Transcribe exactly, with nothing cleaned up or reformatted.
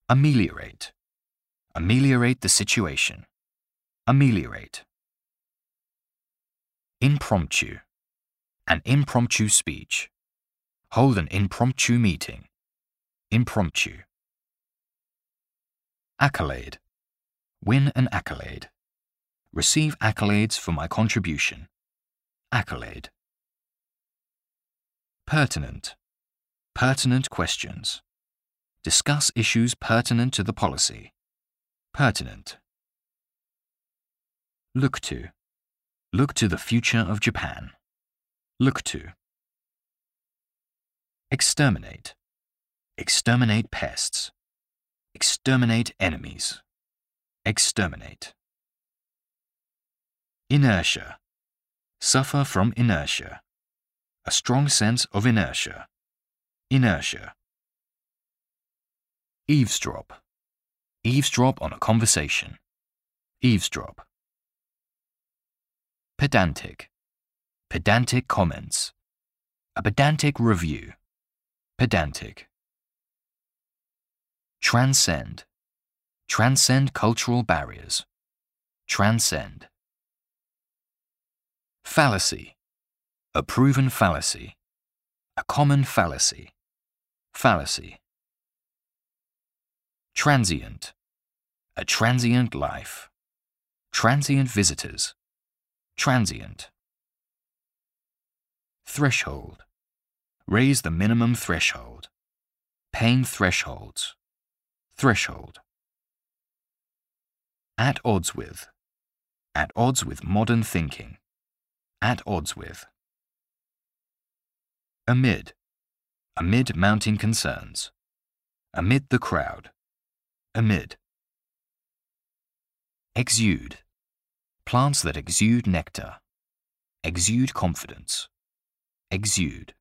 Ameliorate. Ameliorate the situation. Ameliorate. Impromptu. An impromptu speech. Hold an impromptu meeting. Impromptu. Accolade. Win an accolade. Receive accolades for my contribution. Accolade. Pertinent. Pertinent questions. Discuss issues pertinent to the policy. Pertinent. Look to. Look to the future of Japan. Look to. Exterminate. Exterminate pests. Exterminate enemies. Exterminate. Inertia. Suffer from inertia. A strong sense of inertia. Inertia. Eavesdrop. Eavesdrop on a conversation. Eavesdrop. Pedantic. Pedantic comments. A pedantic review. Pedantic. Transcend. Transcend cultural barriers. Transcend. Fallacy. A proven fallacy. A common fallacy. Fallacy. Transient. A transient life. Transient visitors. Transient. Threshold. Raise the minimum threshold. Pain thresholds. Threshold. At odds with. At odds with modern thinking. At odds with. Amid. Amid mounting concerns. Amid the crowd. Amid. Exude. Plants that exude nectar. Exude confidence. Exude.